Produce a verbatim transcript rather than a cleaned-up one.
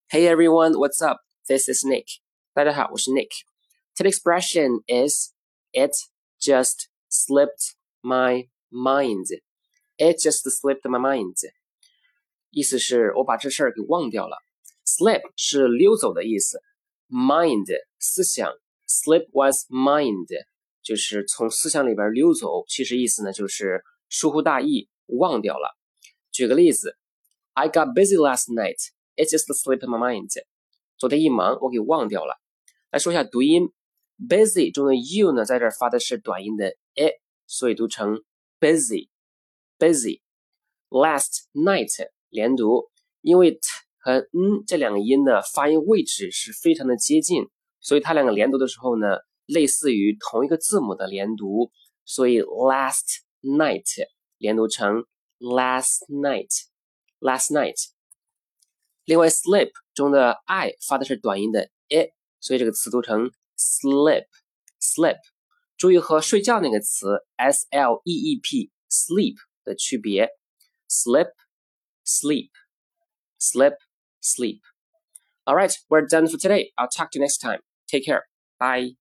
Hey everyone, what's up? This is Nick. 大家好，我是 Nick. Today's expression is It just slipped my mind. It just slipped my mind. 意思是我把这事儿给忘掉了。Slip 是溜走的意思。Mind 思想 Slip was mind 就是从思想里边溜走，其实意思呢就是疏忽大意，忘掉了。举个例子 I got busy last night.It just slipped my mind. 昨天一忙，我给忘掉了。来说一下读音 ，busy 中的 you 呢，在这儿发的是短音的 it， 所以读成 busy，busy。Last night 连读，因为 t 和 n 这两个音呢，发音位置是非常的接近，所以它两个连读的时候呢，类似于同一个字母的连读，所以 last night 连读成 last night，last night。另外 slip 中的 I 发的是短音的 it， 所以这个词读成 slip slip。注意和睡觉那个词 S L E E P sleep 的区别 slip sleep slip sleep。Alright, we're done for today. I'll talk to you next time. Take care. Bye.